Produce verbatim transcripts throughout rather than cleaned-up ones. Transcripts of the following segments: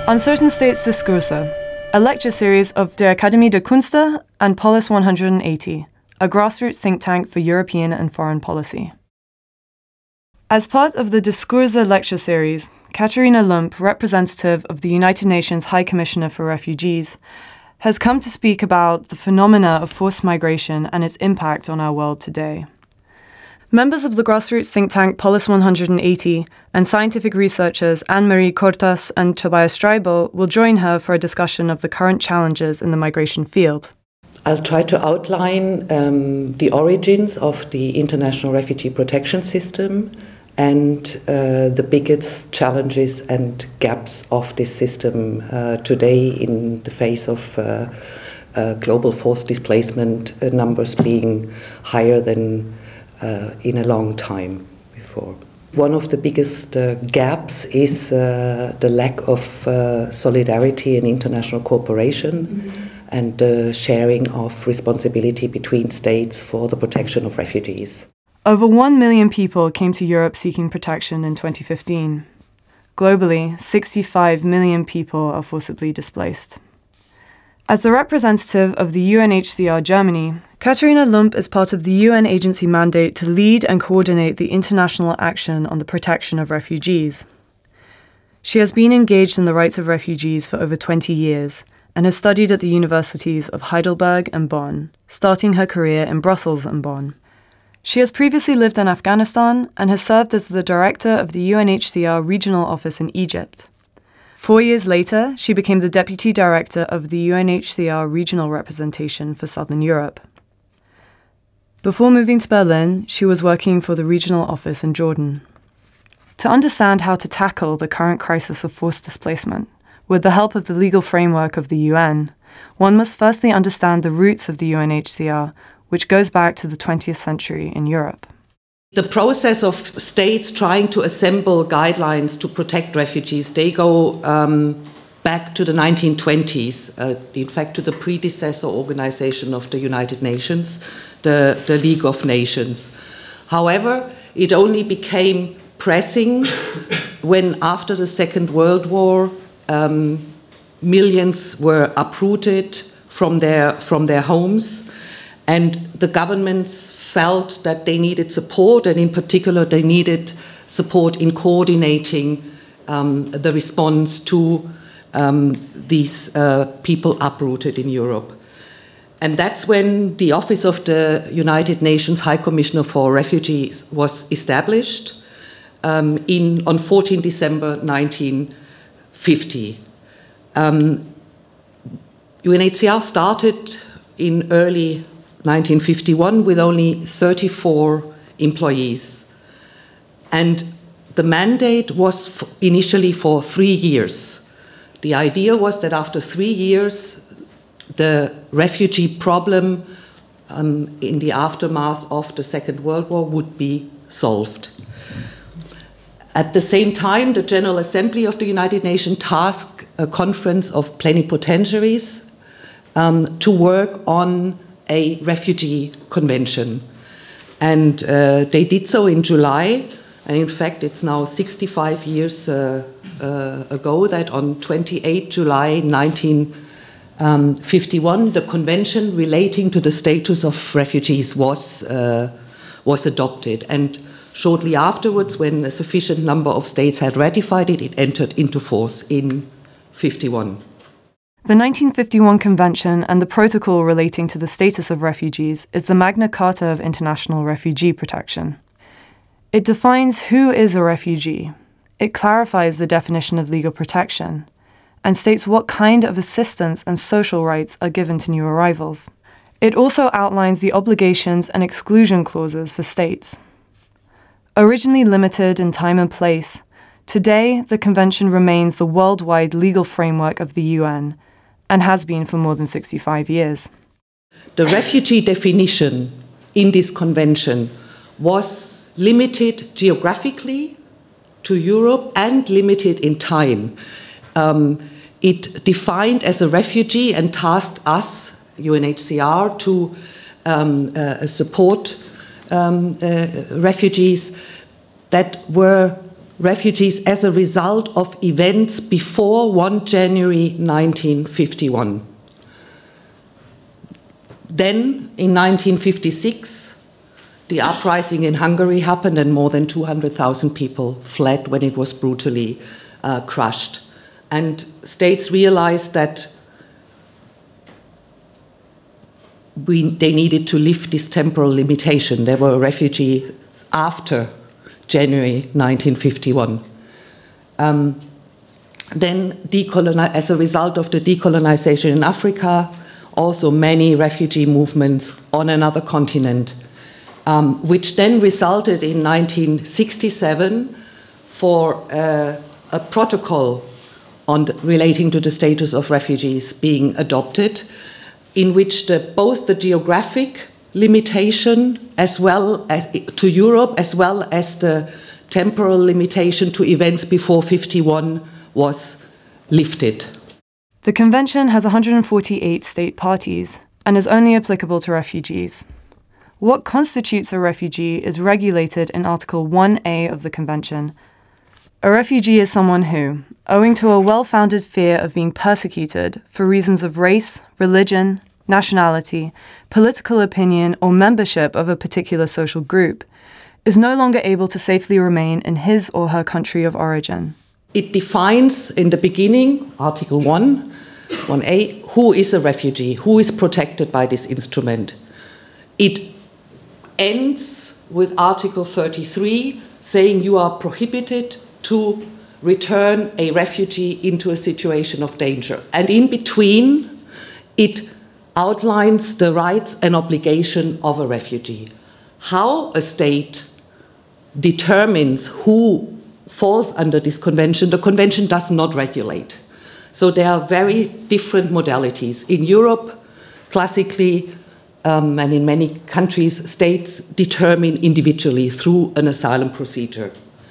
Uncertain States Diskurse, a lecture series of der Akademie der Künste and Polis one hundred eighty, a grassroots think tank for European and foreign policy. As part of the Diskurse lecture series, Katharina Lump, representative of the United Nations High Commissioner for Refugees, has come to speak about the phenomena of forced migration and its impact on our world today. Members of the grassroots think tank Polis one hundred eighty and scientific researchers Anne-Marie Cortas and Tobias Streibo will join her for a discussion of the current challenges in the migration field. I'll try to outline um, the origins of the international refugee protection system and uh, the biggest challenges and gaps of this system uh, today in the face of uh, uh, global forced displacement uh, numbers being higher than uh, in a long time before. One of the biggest uh, gaps is uh, the lack of uh, solidarity and international cooperation mm-hmm. and the uh, sharing of responsibility between states for the protection of refugees. Over one million people came to Europe seeking protection in twenty fifteen. Globally, sixty-five million people are forcibly displaced. As the representative of the U N H C R Germany, Katharina Lump is part of the U N agency mandate to lead and coordinate the international action on the protection of refugees. She has been engaged in the rights of refugees for over twenty years and has studied at the universities of Heidelberg and Bonn, starting her career in Brussels and Bonn. She has previously lived in Afghanistan and has served as the director of the U N H C R regional office in Egypt. Four years later, she became the deputy director of the U N H C R regional representation for Southern Europe. Before moving to Berlin, she was working for the regional office in Jordan. To understand how to tackle the current crisis of forced displacement, with the help of the legal framework of the U N, one must firstly understand the roots of the U N H C R, which goes back to the twentieth century in Europe. The process of states trying to assemble guidelines to protect refugees, they go um, back to the nineteen twenties, uh, in fact to the predecessor organization of the United Nations, the, the League of Nations. However, it only became pressing when after the Second World War, um, millions were uprooted from their, from their homes. And the governments felt that they needed support, and in particular they needed support in coordinating um, the response to um, these uh, people uprooted in Europe. And that's when the Office of the United Nations High Commissioner for Refugees was established um, in, on fourteenth December nineteen fifty. Um, U N H C R started in early nineteen fifty-one with only thirty-four employees. And the mandate was initially for three years. The idea was that after three years, the refugee problem um, in the aftermath of the Second World War would be solved. At the same time, the General Assembly of the United Nations tasked a conference of plenipotentiaries um, to work on a refugee convention. And uh, they did so in July, and in fact it's now sixty-five years uh, uh, ago that on twenty-eighth of July nineteen fifty-one the convention relating to the status of refugees was, uh, was adopted. And shortly afterwards, when a sufficient number of states had ratified it, it entered into force in fifty-one. The nineteen fifty-one Convention and the protocol relating to the status of refugees is the Magna Carta of International Refugee Protection. It defines who is a refugee, it clarifies the definition of legal protection, and states what kind of assistance and social rights are given to new arrivals. It also outlines the obligations and exclusion clauses for states. Originally limited in time and place, today the Convention remains the worldwide legal framework of the U N, and has been for more than sixty-five years. The refugee definition in this convention was limited geographically to Europe and limited in time. Um, it defined as a refugee and tasked us, U N H C R, to um, uh, support um, uh, refugees that were refugees as a result of events before the first of January nineteen fifty-one. Then, in nineteen fifty-six, the uprising in Hungary happened and more than two hundred thousand people fled when it was brutally uh, crushed. And states realized that we, they needed to lift this temporal limitation. There were refugees after January nineteen fifty-one. Um, then, decoloni- as a result of the decolonization in Africa, also many refugee movements on another continent, um, which then resulted in nineteen sixty-seven for uh, a protocol on the, relating to the status of refugees being adopted, in which the, both the geographic limitation as well as to Europe as well as the temporal limitation to events before fifty-one was lifted. The Convention has one hundred forty-eight state parties and is only applicable to refugees. What constitutes a refugee is regulated in Article one A of the Convention. A refugee is someone who, owing to a well-founded fear of being persecuted for reasons of race, religion, nationality, political opinion, or membership of a particular social group, is no longer able to safely remain in his or her country of origin. It defines in the beginning, Article one, one A, who is a refugee, who is protected by this instrument. It ends with Article thirty-three, saying you are prohibited to return a refugee into a situation of danger. And in between, it outlines the rights and obligation of a refugee. How a state determines who falls under this convention, the convention does not regulate. So there are very different modalities. In Europe, classically, um, and in many countries, states determine individually through an asylum procedure.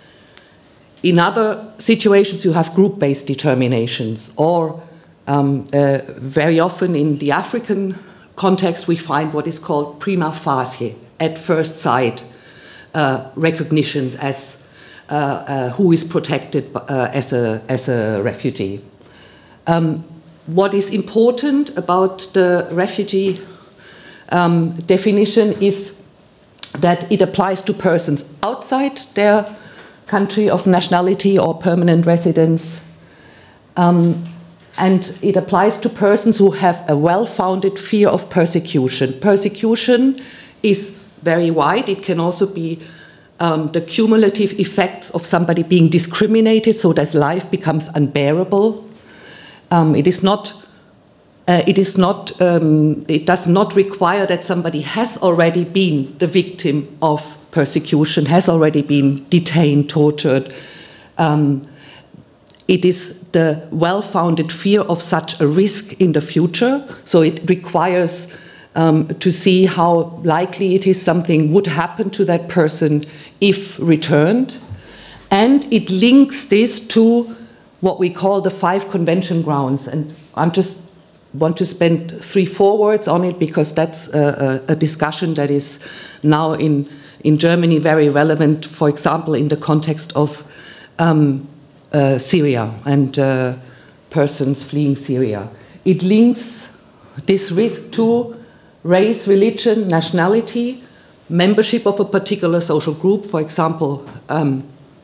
In other situations, you have group-based determinations, or um, uh, very often in the African context, we find what is called prima facie, at first sight, uh, recognitions as uh, uh, who is protected uh, as a, as a refugee. Um, what is important about the refugee um, definition is that it applies to persons outside their country of nationality or permanent residence, um, and it applies to persons who have a well-founded fear of persecution. Persecution is very wide. It can also be um, the cumulative effects of somebody being discriminated so that life becomes unbearable. Um, it is not, uh, it is not, um, it does not require that somebody has already been the victim of persecution, has already been detained, tortured. Um, it is the well-founded fear of such a risk in the future. So it requires um, to see how likely it is something would happen to that person if returned. And it links this to what we call the five convention grounds. And I just want to spend three, four words on it because that's a, a, a discussion that is now in, in Germany very relevant, for example, in the context of um, uh, Syria and uh, persons fleeing Syria. It links this risk to race, religion, nationality, membership of a particular social group, for example, um,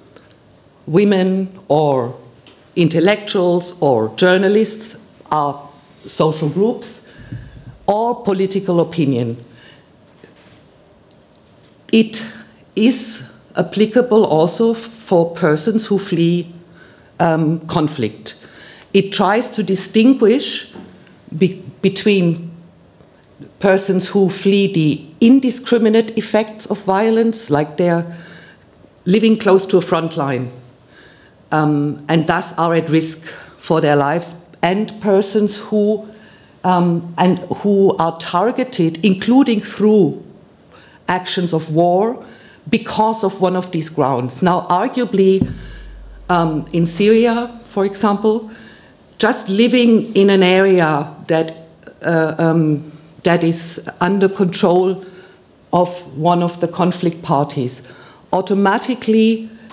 women or intellectuals or journalists are social groups, or political opinion. It is applicable also for persons who flee um, conflict. It tries to distinguish be- between persons who flee the indiscriminate effects of violence, like they're living close to a front line, um, and thus are at risk for their lives, and persons who um, and who are targeted, including through actions of war, because of one of these grounds. Now, arguably, um, in Syria, for example, just living in an area that uh, um, that is under control of one of the conflict parties automatically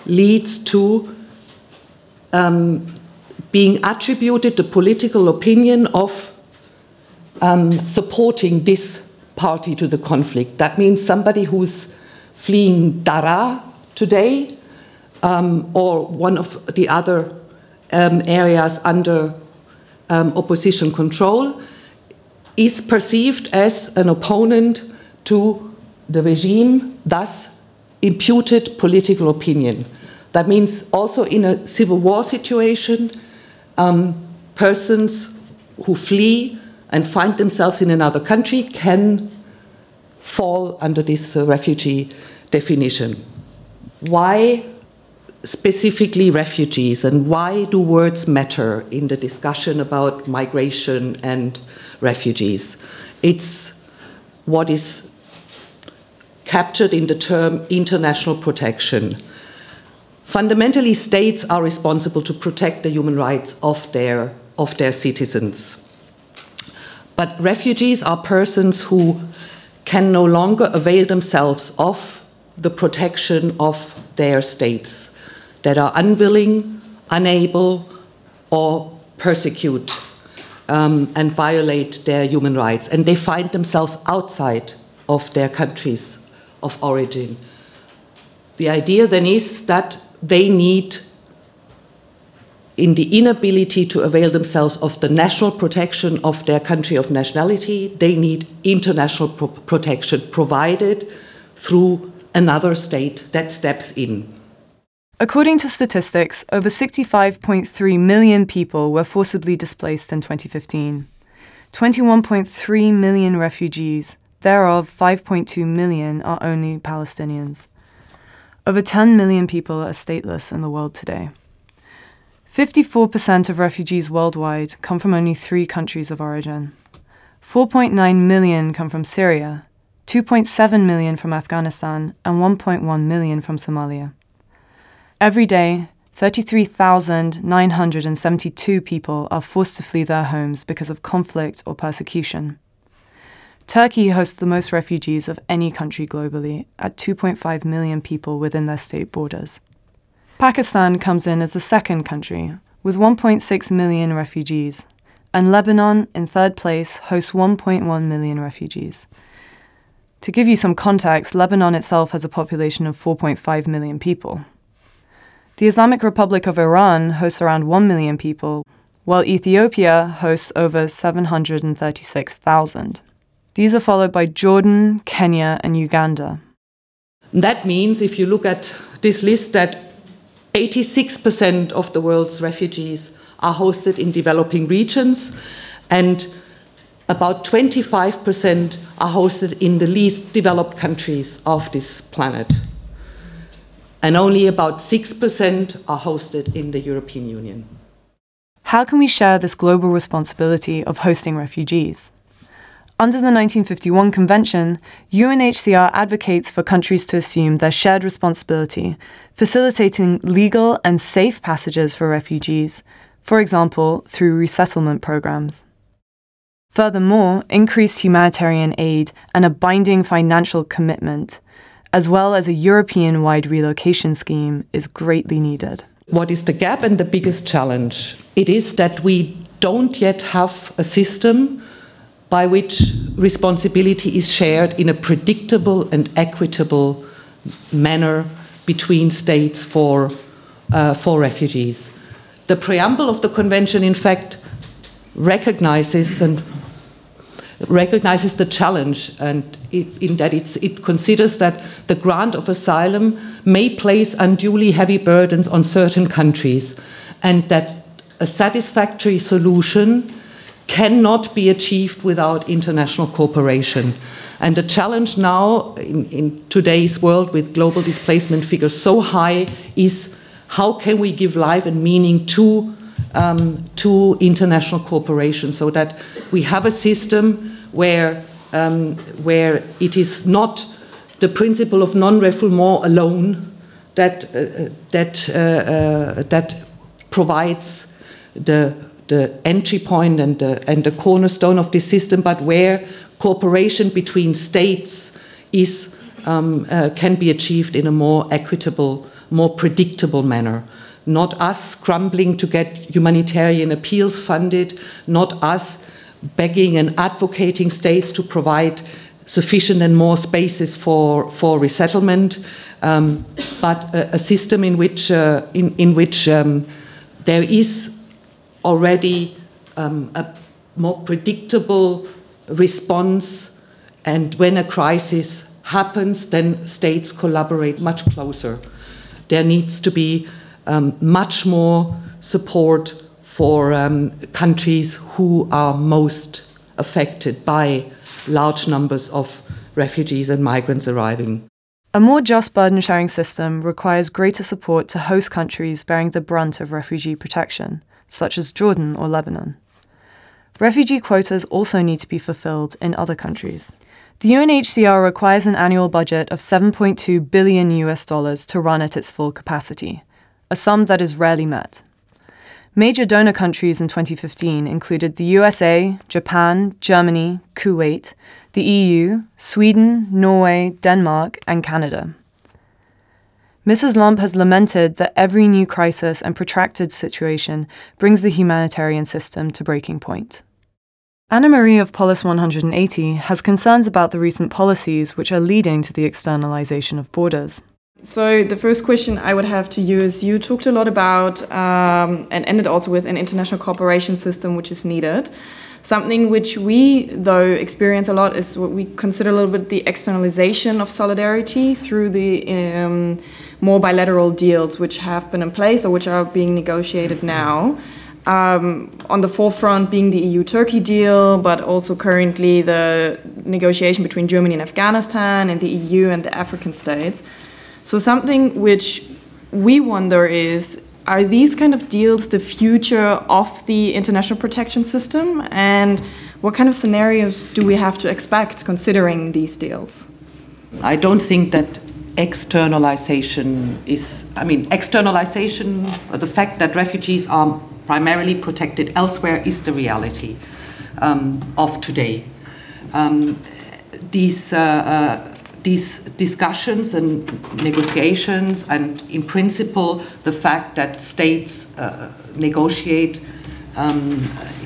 leads to um, being attributed the political opinion of um, supporting this party to the conflict. That means somebody who's fleeing Daraa today, um, or one of the other um, areas under um, opposition control, is perceived as an opponent to the regime, thus imputed political opinion. That means also in a civil war situation, um, persons who flee and find themselves in another country can fall under this uh, refugee definition. Why specifically refugees, and why do words matter in the discussion about migration and refugees? It's what is captured in the term international protection. Fundamentally, states are responsible to protect the human rights of their, of their citizens. But refugees are persons who can no longer avail themselves of the protection of their states, that are unwilling, unable, or persecute um, and violate their human rights. And they find themselves outside of their countries of origin. The idea then is that they need, in the inability to avail themselves of the national protection of their country of nationality, they need international pro- protection provided through another state that steps in. According to statistics, over sixty-five point three million people were forcibly displaced in twenty fifteen. twenty-one point three million refugees, thereof five point two million are only Palestinians. Over ten million people are stateless in the world today. fifty-four percent of refugees worldwide come from only three countries of origin. four point nine million come from Syria, two point seven million from Afghanistan, and one point one million from Somalia. Every day, thirty-three thousand nine hundred seventy-two people are forced to flee their homes because of conflict or persecution. Turkey hosts the most refugees of any country globally, at two point five million people within their state borders. Pakistan comes in as the second country, with one point six million refugees, and Lebanon, in third place, hosts one point one million refugees. To give you some context, Lebanon itself has a population of four point five million people. The Islamic Republic of Iran hosts around one million people, while Ethiopia hosts over seven hundred thirty-six thousand. These are followed by Jordan, Kenya, and Uganda. That means, if you look at this list, that eighty-six percent of the world's refugees are hosted in developing regions, and about twenty-five percent are hosted in the least developed countries of this planet. And only about six percent are hosted in the European Union. How can we share this global responsibility of hosting refugees? Under the nineteen fifty-one Convention, U N H C R advocates for countries to assume their shared responsibility, facilitating legal and safe passages for refugees, for example, through resettlement programs. Furthermore, increased humanitarian aid and a binding financial commitment, as well as a European-wide relocation scheme, is greatly needed. What is the gap and the biggest challenge? It is that we don't yet have a system by which responsibility is shared in a predictable and equitable manner between states for, uh, for refugees. The preamble of the Convention, in fact, recognizes and recognizes the challenge, and it, in that it's, it considers that the grant of asylum may place unduly heavy burdens on certain countries, and that a satisfactory solution cannot be achieved without international cooperation. And the challenge now, in, in today's world with global displacement figures so high, is how can we give life and meaning to Um, to international cooperation, so that we have a system where, um, where it is not the principle of non-refoulement alone that, uh, that, uh, uh, that provides the, the entry point and the, and the cornerstone of this system, but where cooperation between states is, um, uh, can be achieved in a more equitable more predictable manner. Not us scrambling to get humanitarian appeals funded, not us begging and advocating states to provide sufficient and more spaces for, for resettlement, um, but a, a system in which, uh, in, in which um, there is already um, a more predictable response, and when a crisis happens, then states collaborate much closer. There needs to be um, much more support for um, countries who are most affected by large numbers of refugees and migrants arriving. A more just burden-sharing system requires greater support to host countries bearing the brunt of refugee protection, such as Jordan or Lebanon. Refugee quotas also need to be fulfilled in other countries. The U N H C R requires an annual budget of seven point two billion U S dollars to run at its full capacity, a sum that is rarely met. Major donor countries in twenty fifteen included the U S A, Japan, Germany, Kuwait, the E U, Sweden, Norway, Denmark, and Canada. Missus Lomb has lamented that every new crisis and protracted situation brings the humanitarian system to breaking point. Anna Marie of Polis one hundred eighty has concerns about the recent policies which are leading to the externalization of borders. So the first question I would have to you is, you talked a lot about, um, and ended also with, an international cooperation system which is needed. Something which we, though, experience a lot is what we consider a little bit the externalization of solidarity through the um, more bilateral deals which have been in place or which are being negotiated now. Um, on the forefront being the E U-Turkey deal, but also currently the negotiation between Germany and Afghanistan and the E U and the African states. So something which we wonder is, are these kind of deals the future of the international protection system? And what kind of scenarios do we have to expect considering these deals? I don't think that externalization is, I mean, externalization, the fact that refugees are primarily protected elsewhere is the reality um, of today. Um, these, uh, uh, these discussions and negotiations, and in principle the fact that states uh, negotiate um,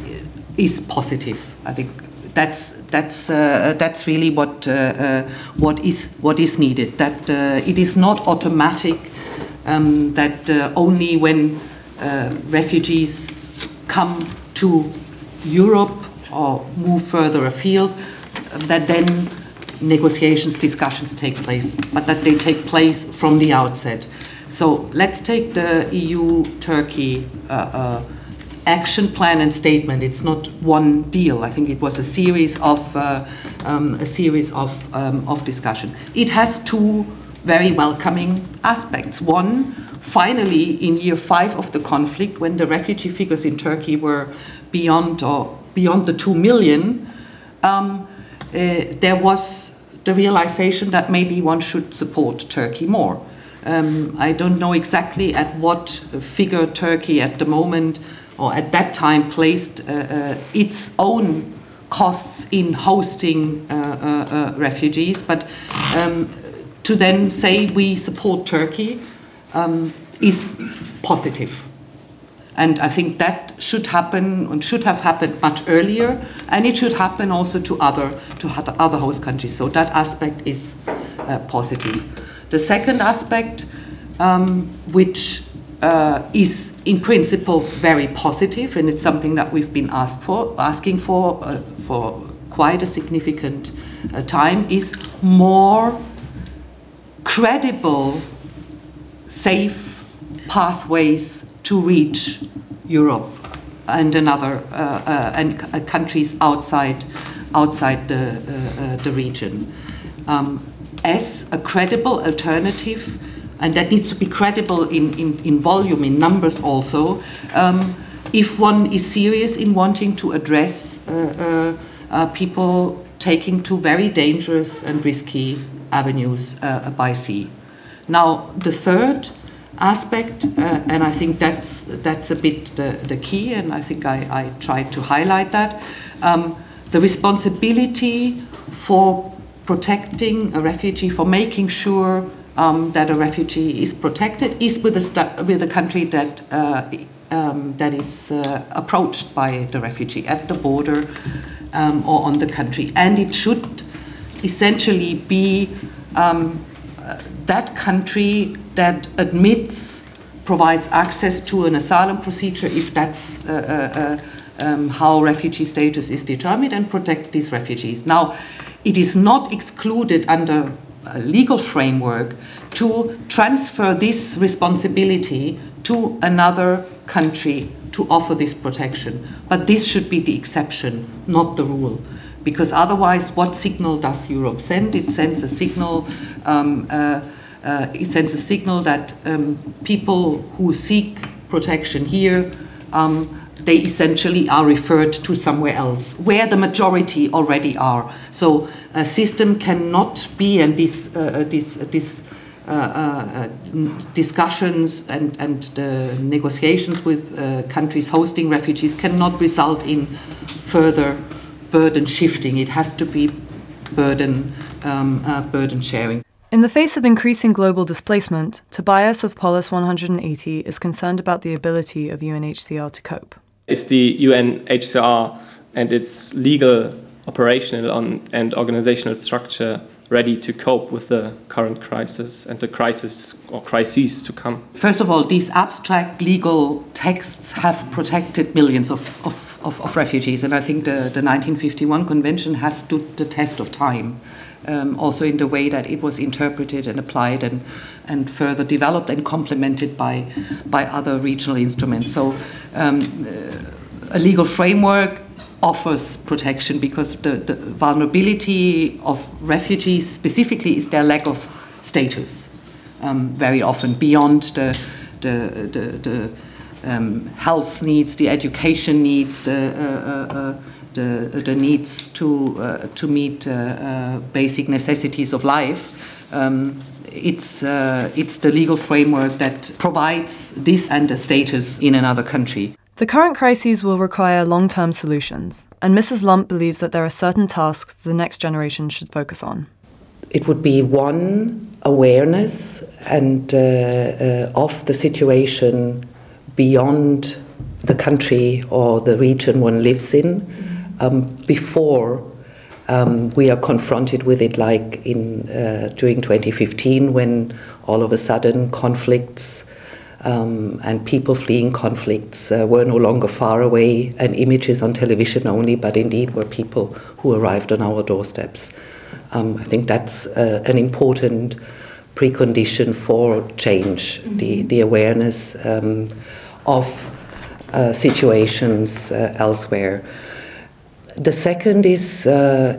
is positive. I think that's that's uh, that's really what uh, uh, what is what is needed. That uh, it is not automatic. Um, that uh, only when uh, refugees come to Europe or move further afield, that then negotiations, discussions take place, but that they take place from the outset. So let's take the E U-Turkey uh, uh, action plan and statement. It's not one deal. I think it was a series of uh, um, a series of um, of discussion. It has two very welcoming aspects. One, finally, in year five of the conflict, when the refugee figures in Turkey were beyond or beyond the two million, um, uh, there was the realization that maybe one should support Turkey more. Um, I don't know exactly at what figure Turkey at the moment or at that time placed uh, uh, its own costs in hosting uh, uh, uh, refugees, but um, to then say we support Turkey um, is positive. And I think that should happen and should have happened much earlier, and it should happen also to other to other host countries. So that aspect is uh, positive. The second aspect, um, which uh, is in principle very positive, and it's something that we've been asked for, asking for uh, for quite a significant uh, time, is more credible, safe pathways to reach Europe and another uh, uh, and uh, countries outside outside the uh, uh, the region, um, as a credible alternative, and that needs to be credible in in, in volume, in numbers also. Um, if one is serious in wanting to address uh, uh, uh, people taking to very dangerous and risky avenues uh, by sea. Now, the third aspect, uh, and I think that's that's a bit the, the key, and I think I, I tried to highlight that, um, the responsibility for protecting a refugee, for making sure um, that a refugee is protected is with a, st- with a country that, uh, um, that is uh, approached by the refugee at the border um, or on the country. And it should essentially be um, uh, that country that admits, provides access to an asylum procedure if that's uh, uh, um, how refugee status is determined, and protects these refugees. Now, it is not excluded under a legal framework to transfer this responsibility to another country to offer this protection. But this should be the exception, not the rule. Because otherwise, what signal does Europe send? It sends a signal um, uh, Uh, it sends a signal that um, people who seek protection here, um, they essentially are referred to somewhere else, where the majority already are. So a system cannot be, and this, uh, this, this uh, uh, discussions and, and the negotiations with uh, countries hosting refugees cannot result in further burden shifting. It has to be burden, um, uh, burden sharing. In the face of increasing global displacement, Tobias of Polis one hundred eighty is concerned about the ability of U N H C R to cope. Is the U N H C R and its legal, operational and organizational structure ready to cope with the current crisis and the crisis or crises to come? First of all, these abstract legal texts have protected millions of, of, of, of refugees, and I think the, the nineteen fifty-one Convention has stood the test of time. Um, also in the way that it was interpreted and applied and, and further developed and complemented by, by other regional instruments. So um, uh, a legal framework offers protection because the, the vulnerability of refugees specifically is their lack of status, um, very often beyond the, the, the, the um, health needs, the education needs, the uh, uh, uh, The, the needs to uh, to meet uh, uh, basic necessities of life. Um, it's uh, it's the legal framework that provides this and a status in another country. The current crises will require long-term solutions, and Missus Lomp believes that there are certain tasks the next generation should focus on. It would be one, awareness and uh, uh, of the situation beyond the country or the region one lives in. Um, before um, we are confronted with it, like in uh, during twenty fifteen, when all of a sudden conflicts um, and people fleeing conflicts uh, were no longer far away and images on television only, but indeed were people who arrived on our doorsteps. Um, I think that's uh, an important precondition for change, mm-hmm. the, the awareness um, of uh, situations uh, elsewhere. The second is uh,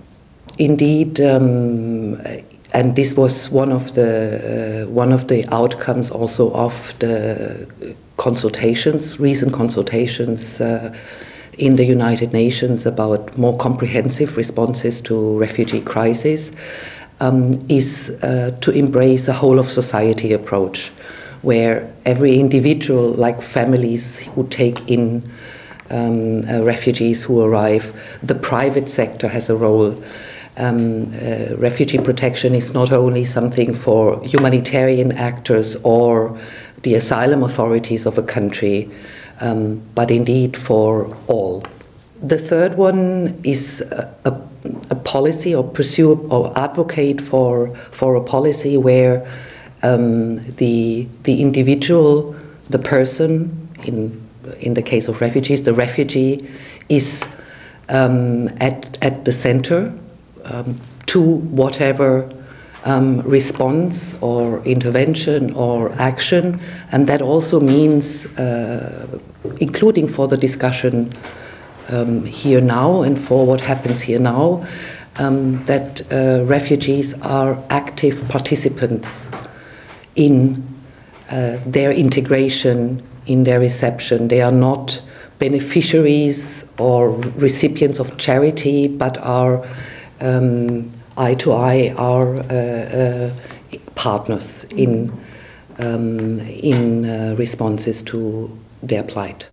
indeed, um, and this was one of the uh, one of the outcomes also of the consultations, recent consultations uh, in the United Nations about more comprehensive responses to refugee crisis, um, is uh, to embrace a whole of society approach, where every individual, like families who take in Um, uh, refugees who arrive, the private sector has a role. Um, uh, refugee protection is not only something for humanitarian actors or the asylum authorities of a country, um, but indeed for all. The third one is a, a, a policy or pursue or advocate for, for a policy where um, the, the individual, the person, in in the case of refugees, the refugee is um, at, at the center um, to whatever um, response or intervention or action. And that also means, uh, including for the discussion um, here now and for what happens here now, um, that uh, refugees are active participants in uh, their integration, in their reception. They are not beneficiaries or recipients of charity, but are um, eye to eye, are uh, uh, partners in um, in uh, responses to their plight.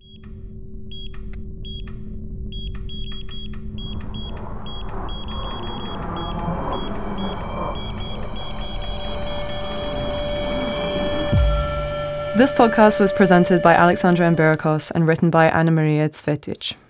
This podcast was presented by Alexandra Ambirikos and written by Anna Maria Cvetic.